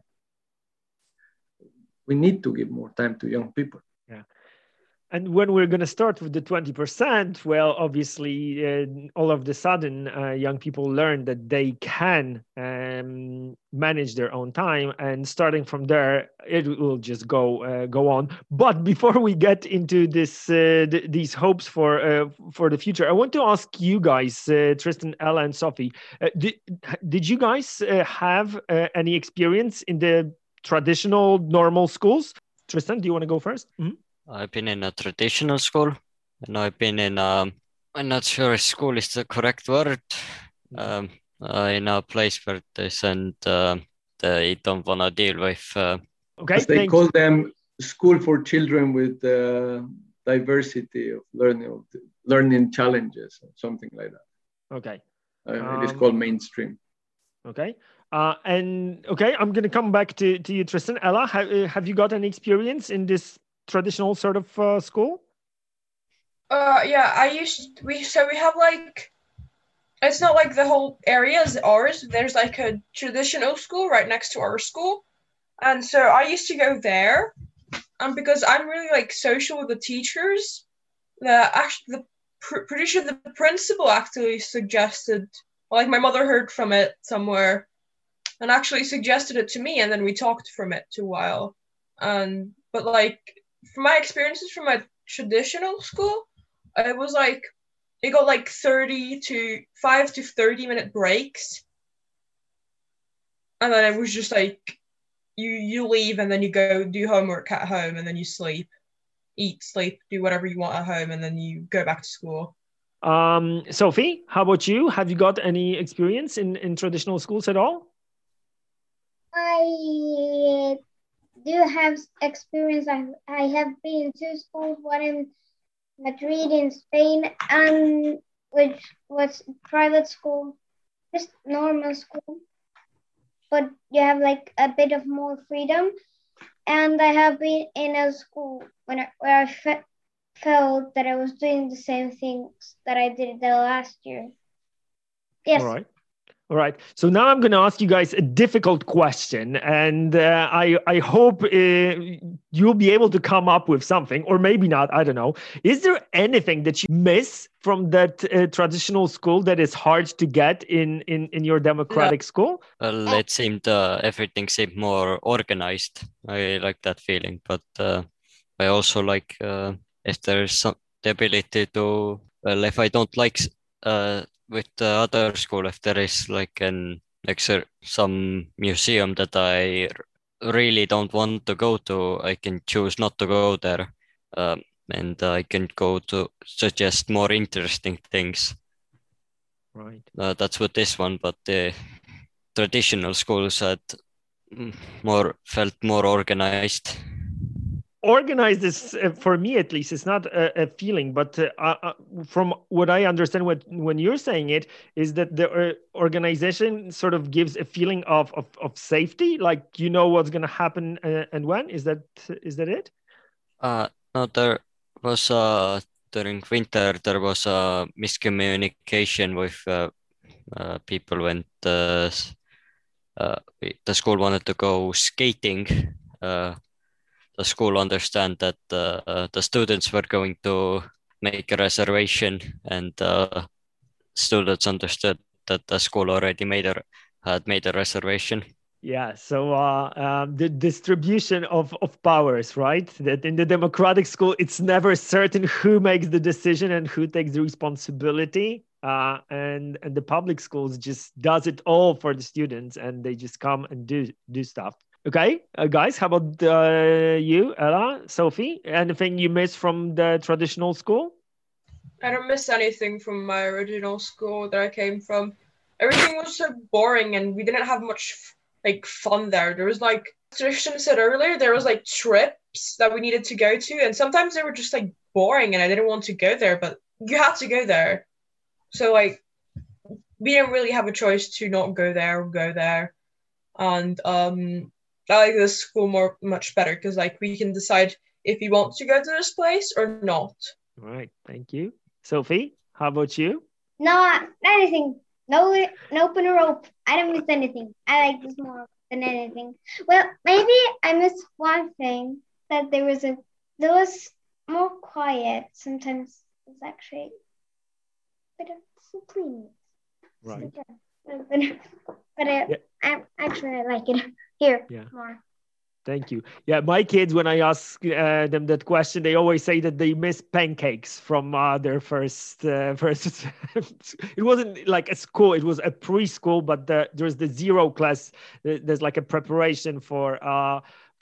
We need to give more time to young people. Yeah. And when we're going to start with the twenty percent, well, obviously, uh, all of the sudden, uh, young people learn that they can um, manage their own time. And starting from there, it will just go uh, go on. But before we get into this, uh, th- these hopes for uh, for the future, I want to ask you guys, uh, Tristan, Ella, and Sophie, uh, did, did you guys uh, have uh, any experience in the traditional, normal schools? Tristan, do you want to go first? Mm-hmm. I've been in a traditional school, and I've been in, um, I'm not sure if school is the correct word, um, uh, in a place where they send, uh, they don't want to deal with. Uh, okay, As they call them school for children with uh, diversity of learning, learning challenges, or something like that. Okay. Uh, um, it is called mainstream. Okay. Uh, and okay, I'm going to come back to, to you, Tristan. Ella, have, have you got any experience in this traditional sort of uh, school? Uh, yeah, I used, we, so we have like, it's not like the whole area is ours. There's like a traditional school right next to our school. And so I used to go there. And because I'm really like social with the teachers, the actually, the pr- pretty sure the principal actually suggested, like my mother heard from it somewhere and actually suggested it to me. And then we talked from it to a while. And, but like, from my experiences from my traditional school, it was like, it got like thirty to five to thirty minute breaks. And then it was just like, you, you leave and then you go do homework at home and then you sleep, eat, sleep, do whatever you want at home. And then you go back to school. Um, Sophie, how about you? Have you got any experience in, in traditional schools at all? I do have experience. I, I have been to schools, one in Madrid in Spain, and which was private school, just normal school, but you have like a bit of more freedom. And I have been in a school when I, where I fe- felt that I was doing the same things that I did the last year. Yes. All right. All right. So now I'm going to ask you guys a difficult question, and uh, I I hope uh, you'll be able to come up with something, or maybe not. I don't know. Is there anything that you miss from that uh, traditional school that is hard to get in in, in your democratic No. school? well, it seemed uh, everything seemed more organized. I like that feeling, but uh, I also like uh, if there's some the ability to, well, if I don't like uh, with the other school, if there is like an like some museum that I really don't want to go to, I can choose not to go there, um, and I can go to suggest more interesting things. Right. Uh, that's what this one, but the traditional schools had more felt more organized. Organized is, uh, for me at least, it's not a, a feeling, but uh, uh, from what I understand, what when you're saying it is that the uh, organization sort of gives a feeling of of, of safety, like you know what's going to happen uh, and when. Is that is that it? Uh, no, there was uh during winter there was a miscommunication with uh, uh, people when the uh, the school wanted to go skating. Uh, the school understand that uh, the students were going to make a reservation, and uh, students understood that the school already made a had made a reservation. Yeah, so uh, um, the distribution of, of powers, right? That in the democratic school, it's never certain who makes the decision and who takes the responsibility. Uh, and and the public schools just does it all for the students, and they just come and do do stuff. Okay, uh, guys, how about uh, you, Ella, Sophie? Anything you miss from the traditional school? I don't miss anything from my original school that I came from. Everything was so boring and we didn't have much like fun there. There was like Tristan said earlier, there was like trips that we needed to go to, and sometimes they were just like boring and I didn't want to go there, but you had to go there. So like we didn't really have a choice to not go there or go there. And um I like this school more much better because like we can decide if we want to go to this place or not. All right, thank you. Sophie, how about you? No, not anything. No, no open rope. I don't miss anything. I like this more than anything. Well, maybe I missed one thing, that there was a there was more quiet. Sometimes it's actually a bit of some clean. Right. So, yeah. But, but I, Yeah. I actually I like it here Yeah. more. Thank you. Yeah, my kids, when I ask uh, them that question, they always say that they miss pancakes from uh, their first uh, first. It wasn't like a school; it was a preschool. But the, there's the zero class. There's like a preparation for uh,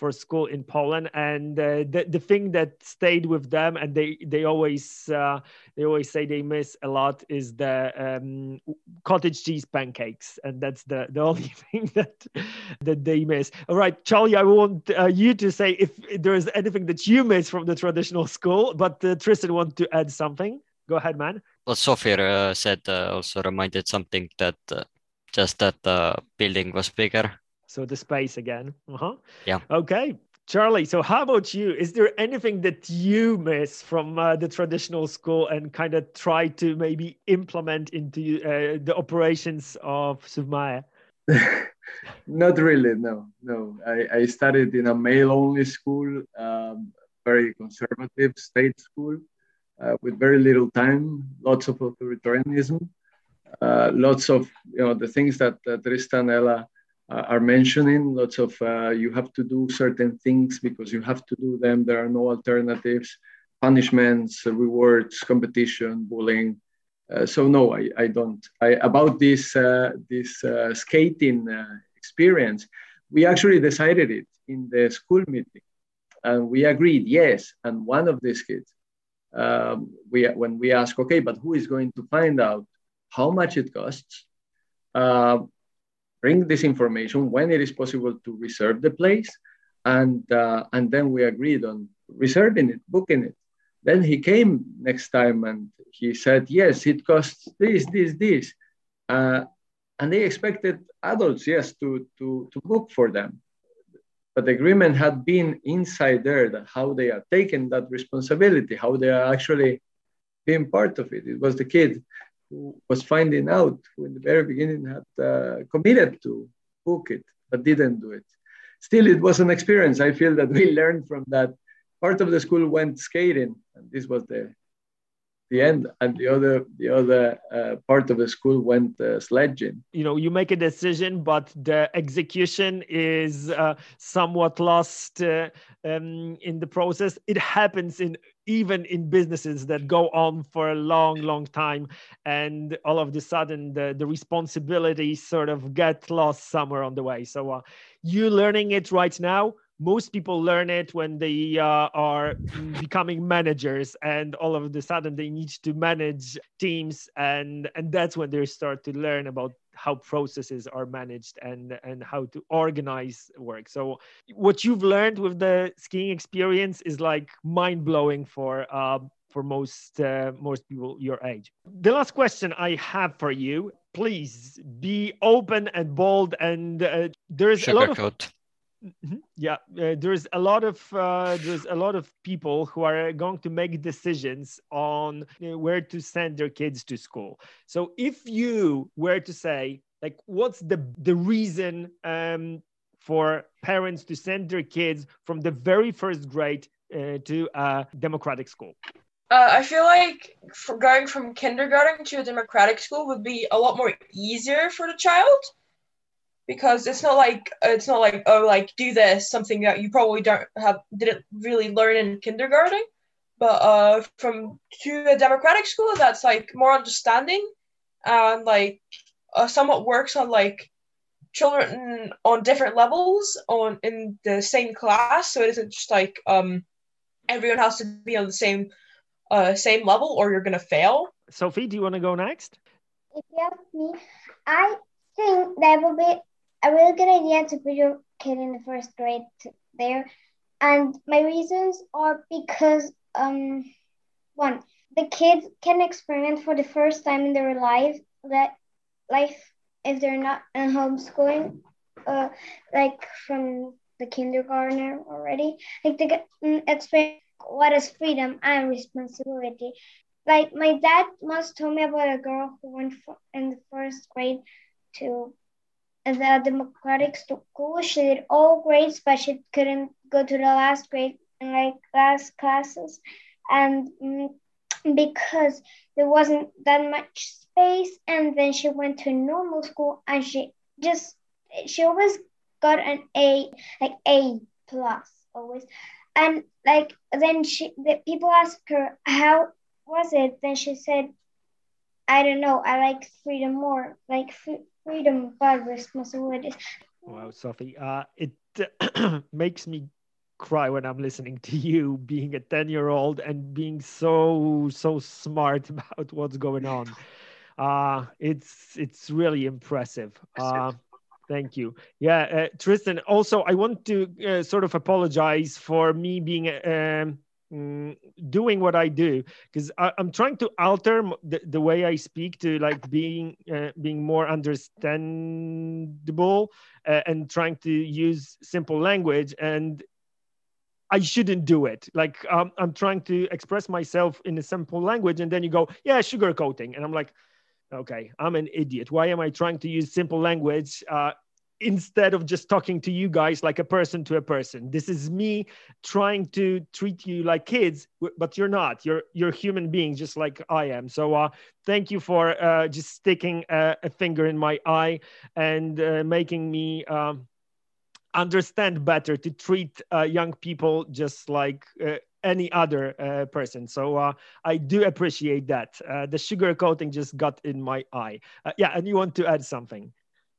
for school in Poland, and uh, the the thing that stayed with them, and they they always uh, they always say they miss a lot, is the um, cottage cheese pancakes, and that's the the only thing that that they miss. All right, Charlie, I want uh, you to say if there is anything that you miss from the traditional school, but uh, Tristan want to add something. Go ahead, man. What Sophie uh, said uh, also reminded something that uh, just that the building was bigger. So the space again. Uh-huh. Yeah. Okay. Charlie, so how about you? Is there anything that you miss from uh, the traditional school and kind of try to maybe implement into uh, the operations of Suvmaya? Not really, no, no. I, I studied in a male-only school, um, very conservative state school, uh, with very little time, lots of authoritarianism, uh, lots of, you know, the things that, that Tristan, Ella uh, are mentioning, lots of, uh, you have to do certain things because you have to do them. There are no alternatives, punishments, rewards, competition, bullying. Uh, so no, I, I don't. I, about this uh, this uh, skating uh, experience, we actually decided it in the school meeting, and we agreed yes. And one of these kids, um, we when we asked, okay, but who is going to find out how much it costs? Uh, bring this information when it is possible to reserve the place, and uh, and then we agreed on reserving it, booking it. Then he came next time and he said, yes, it costs this, this, this. Uh, and they expected adults, yes, to, to, to book for them. But the agreement had been inside there, that how they are taking that responsibility, how they are actually being part of it. It was the kid who was finding out, who in the very beginning had uh, committed to book it, but didn't do it. Still, it was an experience. I feel that we learned from that. Part of the school went skating, and this was the the end, and the other the other uh, part of the school went uh, sledging. You know, you make a decision, but the execution is uh, somewhat lost uh, um, in the process. It happens in even in businesses that go on for a long, long time, and all of a sudden the the responsibilities sort of get lost somewhere on the way. So uh, you learning it right now. Most people learn it when they uh, are becoming managers, and all of a sudden they need to manage teams, and and that's when they start to learn about how processes are managed and and how to organize work. So what you've learned with the skiing experience is like mind-blowing for uh, for most uh, most people your age. The last question I have for you, please be open and bold, and uh, there's a lot of Sugarcoat. Mhm. Yeah, uh, there's a lot of uh, there's a lot of people who are going to make decisions on uh, where to send their kids to school. So if you were to say, like, what's the the reason um, for parents to send their kids from the very first grade uh, to a democratic school? Uh, I feel like for going from kindergarten to a democratic school would be a lot more easier for the child. Because it's not like it's not like oh like do this, something that you probably don't have didn't really learn in kindergarten, but uh from to a democratic school that's like more understanding and like uh, somewhat works on like children on different levels on in the same class, so it isn't just like um everyone has to be on the same uh same level or you're gonna fail. Sophie, do you want to go next? If you ask me, I think that would be a really good idea to put your kid in the first grade there. And my reasons are because, um, one, the kids can experiment for the first time in their life, that life if they're not in homeschooling, uh, like from the kindergartner already. Like they get mm, experience what is freedom and responsibility. Like my dad once told me about a girl who went for, in the first grade to the democratic school. She did all grades, but she couldn't go to the last grade and like last classes, and mm, because there wasn't that much space. And then she went to normal school, and she just she always got an A, like A plus always. And like then she, the people asked her how was it. Then she said, I don't know. I like freedom more, like free, freedom but responsibilities. Wow, Sophie, uh, it makes me cry when I'm listening to you being a ten year old and being so, so smart about what's going on. Uh, it's, it's really impressive. Uh, Thank you. Yeah, uh, Tristan, also, I want to uh, sort of apologize for me being um, mm, doing what I do, because I'm trying to alter the, the way I speak to like being uh, being more understandable uh, and trying to use simple language. And I shouldn't do it. Like um, I'm trying to express myself in a simple language, and then you go, yeah, sugarcoating. And I'm like, okay, I'm an idiot. Why am I trying to use simple language uh, instead of just talking to you guys like a person to a person? This is me trying to treat you like kids, but you're not. You're you're human beings just like I am. So uh, thank you for uh, just sticking a, a finger in my eye and uh, making me um, understand better to treat uh, young people just like uh, any other uh, person. So uh, I do appreciate that. Uh, the sugar coating just got in my eye. Uh, yeah, and you want to add something?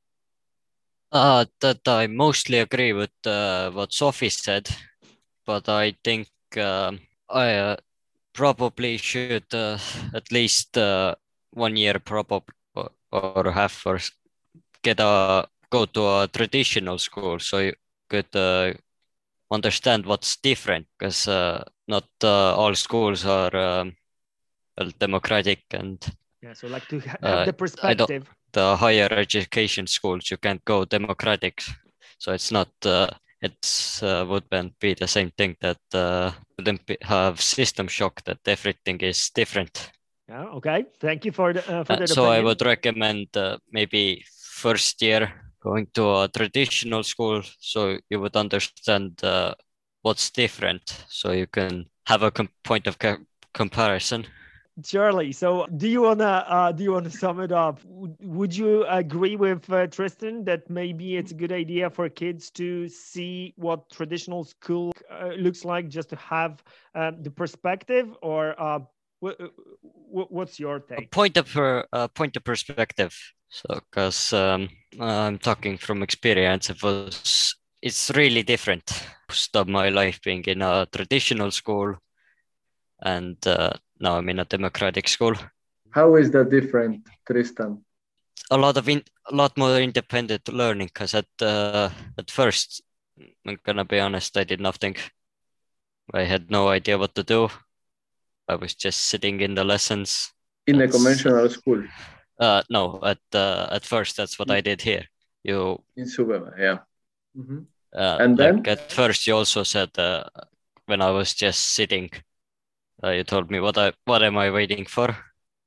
Uh, that I mostly agree with uh, what Sophie said, but I think um, I uh, probably should uh, at least uh, one year probably or, or half or get a go to a traditional school so you could uh, understand what's different, because uh, not uh, all schools are um, well, democratic, and yeah, so like to have uh, the perspective. The higher education schools you can't go democratic, so it's not uh, it's uh, wouldn't be the same thing that uh, wouldn't be, have system shock that everything is different. Yeah, okay, thank you for the uh, for uh, that so opinion. I would recommend uh, maybe first year going to a traditional school so you would understand uh, what's different, so you can have a com- point of co- comparison. Charlie, so do you wanna uh, do you wanna sum it up? Would you agree with uh, Tristan that maybe it's a good idea for kids to see what traditional school uh, looks like, just to have uh, the perspective, or uh, w- w- what's your take? A point of per, uh, point of perspective. So, because um, I'm talking from experience, it was it's really different. Most of my life being in a traditional school, and uh, now I'm in a democratic school. How is that different, Tristan? A lot of in, a lot more independent learning, because at uh, at first, I'm gonna be honest, I did nothing. I had no idea what to do. I was just sitting in the lessons. In That's, a conventional school? Uh, no, at uh, at first that's what I did here. You in Suvema, yeah. Mm-hmm. Uh, and like then at first you also said uh, when I was just sitting, uh, you told me what I what am I waiting for?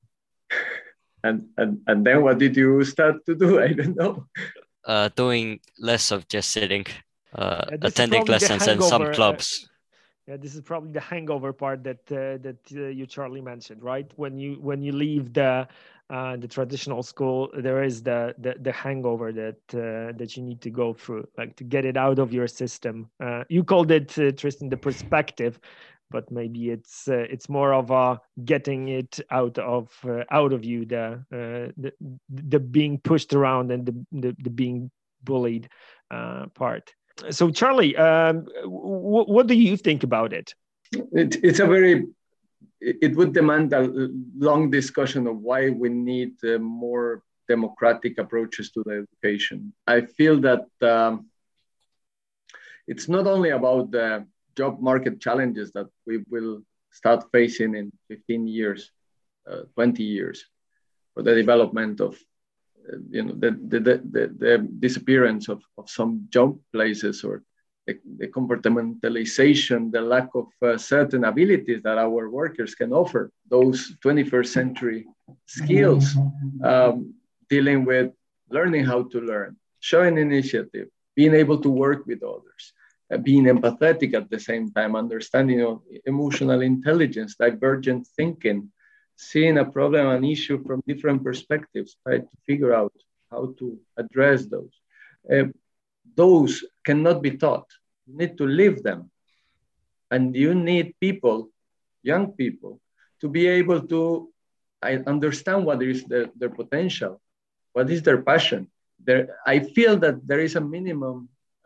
and and and then what did you start to do? I don't know. Uh, doing less of just sitting, uh, Yeah, attending lessons and some clubs. Uh, yeah, this is probably the hangover part that uh, that uh, you, Charlie, mentioned, right? When you when you leave the uh, the traditional school, there is the the, the hangover that uh, that you need to go through, like to get it out of your system. Uh, you called it, uh, Tristan, the perspective, but maybe it's uh, it's more of a getting it out of uh, out of you, the, uh, the the being pushed around and the the, the being bullied uh, part. So, Charlie, um, w- what do you think about it? it? It's a very, it would demand a long discussion of why we need uh, more democratic approaches to the education. I feel that um, it's not only about the job market challenges that we will start facing in fifteen years, uh, twenty years, for the development of you know, the, the, the, the disappearance of, of some job places, or the, the comportamentalization, the lack of uh, certain abilities that our workers can offer, those twenty-first century skills, um, dealing with learning how to learn, showing initiative, being able to work with others, uh, being empathetic at the same time, understanding you know, emotional intelligence, divergent thinking, seeing a problem, an issue from different perspectives, try to figure out how to address those. Uh, those cannot be taught. You need to live them. And you need people, young people, to be able to understand what is their, their potential, what is their passion. There, I feel that there is a minimum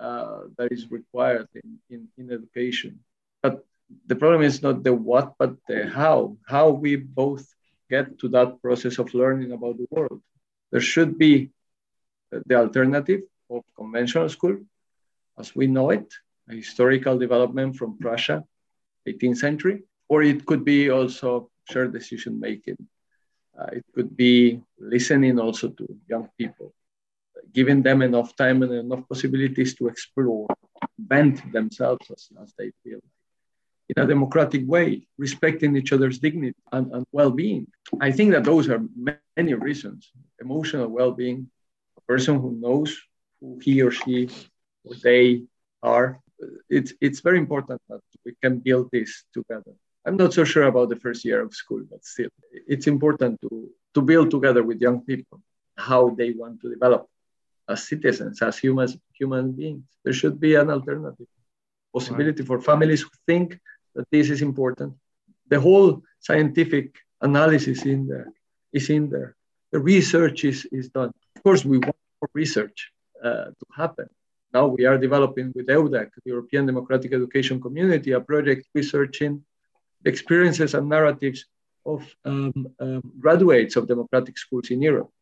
uh, that is required in, in, in education. But the problem is not the what, but the how, how we both get to that process of learning about the world. There should be the alternative of conventional school as we know it, a historical development from Prussia, eighteenth century, or it could be also shared decision making. Uh, it could be listening also to young people, giving them enough time and enough possibilities to explore, vent themselves as, as they feel, in a democratic way, respecting each other's dignity and, and well-being. I think that those are many reasons. Emotional well-being, a person who knows who he or she or they are. It's, it's very important that we can build this together. I'm not so sure about the first year of school, but still, it's important to, to build together with young people how they want to develop as citizens, as humans, human beings. There should be an alternative possibility right. for families who think that this is important. The whole scientific analysis in there is in there. The research is, is done. Of course, we want more research uh, to happen. Now we are developing with EUDEC, the European Democratic Education Community, a project researching the experiences and narratives of um, um, graduates of democratic schools in Europe.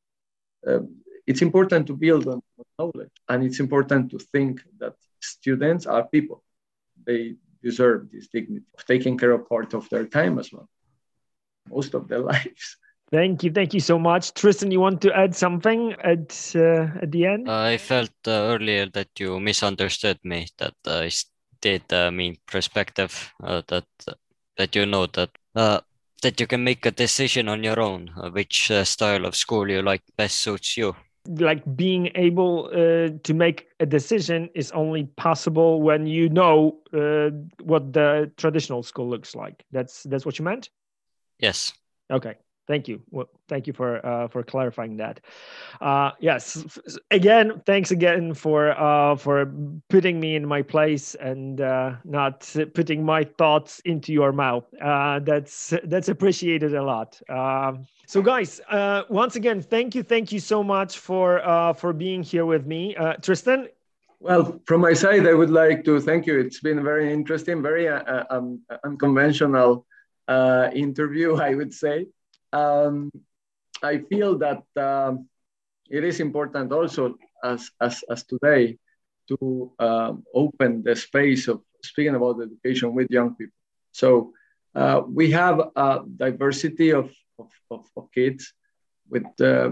Um, it's important to build on knowledge, and it's important to think that students are people. They deserve this dignity of taking care of part of their time as well, most of their lives. Thank you. Thank you so much. Tristan, you want to add something at uh, at the end? I felt uh, earlier that you misunderstood me, that I did uh, mean perspective, uh, that that you know that uh, that you can make a decision on your own, uh, which uh, style of school you like best suits you. Like being able uh, to make a decision is only possible when you know uh, what the traditional school looks like. That's that's what you meant? Yes. Okay. Thank you. Well, thank you for uh, for clarifying that. Uh, yes. Again, thanks again for uh, for putting me in my place and uh, not putting my thoughts into your mouth. Uh, that's that's appreciated a lot. Um, so, guys, uh, once again, thank you, thank you so much for uh, for being here with me, uh, Tristan. Well, from my side, I would like to thank you. It's been very interesting, very uh, um, unconventional uh, interview, I would say. Um, I feel that um, it is important also as, as, as today to um, open the space of speaking about education with young people. So uh, we have a diversity of, of, of, of kids with uh,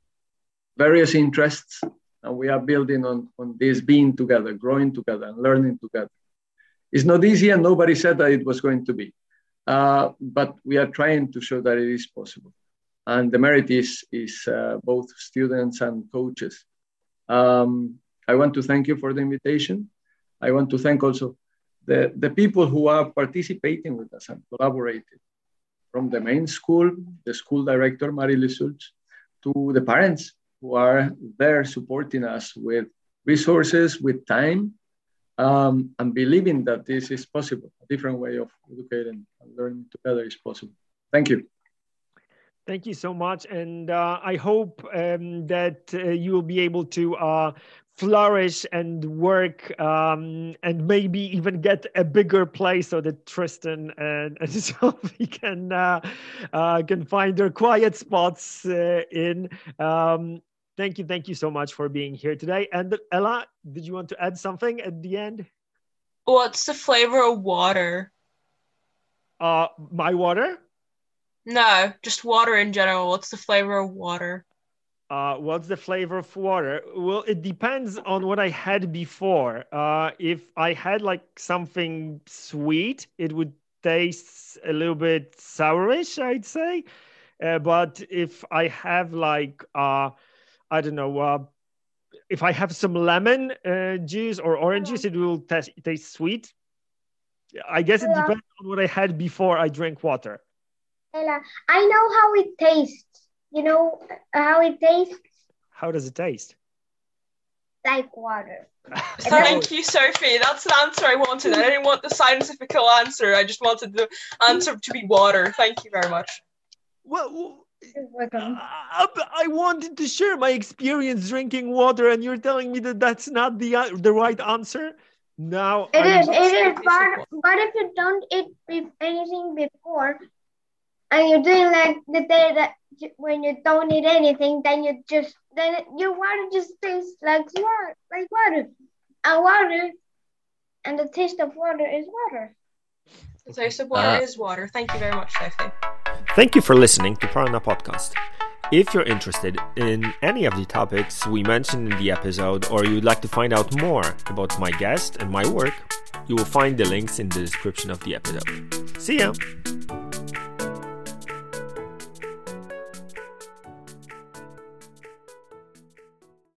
various interests, and we are building on, on this being together, growing together and learning together. It's not easy, and nobody said that it was going to be. Uh, but we are trying to show that it is possible. And the merit is, is uh, both students and coaches. Um, I want to thank you for the invitation. I want to thank also the, the people who are participating with us and collaborating, from the main school, the school director, Marie-Lise Schultz, to the parents who are there supporting us with resources, with time, Um, and believing that this is possible. A different way of educating and learning together is possible. Thank you. Thank you so much. And uh, I hope um, that uh, you will be able to uh, flourish and work um, and maybe even get a bigger place so that Tristan and, and Sophie can, uh, uh, can find their quiet spots uh, in. Um, Thank you. Thank you so much for being here today. And Ella, did you want to add something at the end? What's the flavor of water? Uh, my water? No, just water in general. What's the flavor of water? Uh, what's the flavor of water? Well, it depends on what I had before. Uh, if I had like something sweet, it would taste a little bit sourish, I'd say. Uh, but if I have like... Uh, I don't know, uh, if I have some lemon uh, juice or orange juice, it will taste, taste sweet. I guess it Ella. depends on what I had before I drank water. Ella, I know how it tastes. You know how it tastes? How does it taste? Like water. Thank you, Sophie. That's the answer I wanted. I didn't want the scientific answer. I just wanted the answer to be water. Thank you very much. Well, You're welcome. I, I wanted to share my experience drinking water, and you're telling me that that's not the uh, the right answer. Now It I'm is, just- it is, but, but if you don't eat be- anything before, and you're doing like the day that you, when you don't eat anything, then you just, then it, your water just tastes like water, like water. And water, and the taste of water is water. The taste of water Uh, is water. Thank you very much, Sophie. Thank you for listening to Prana Podcast. If you're interested in any of the topics we mentioned in the episode, or you'd like to find out more about my guest and my work, you will find the links in the description of the episode. See ya!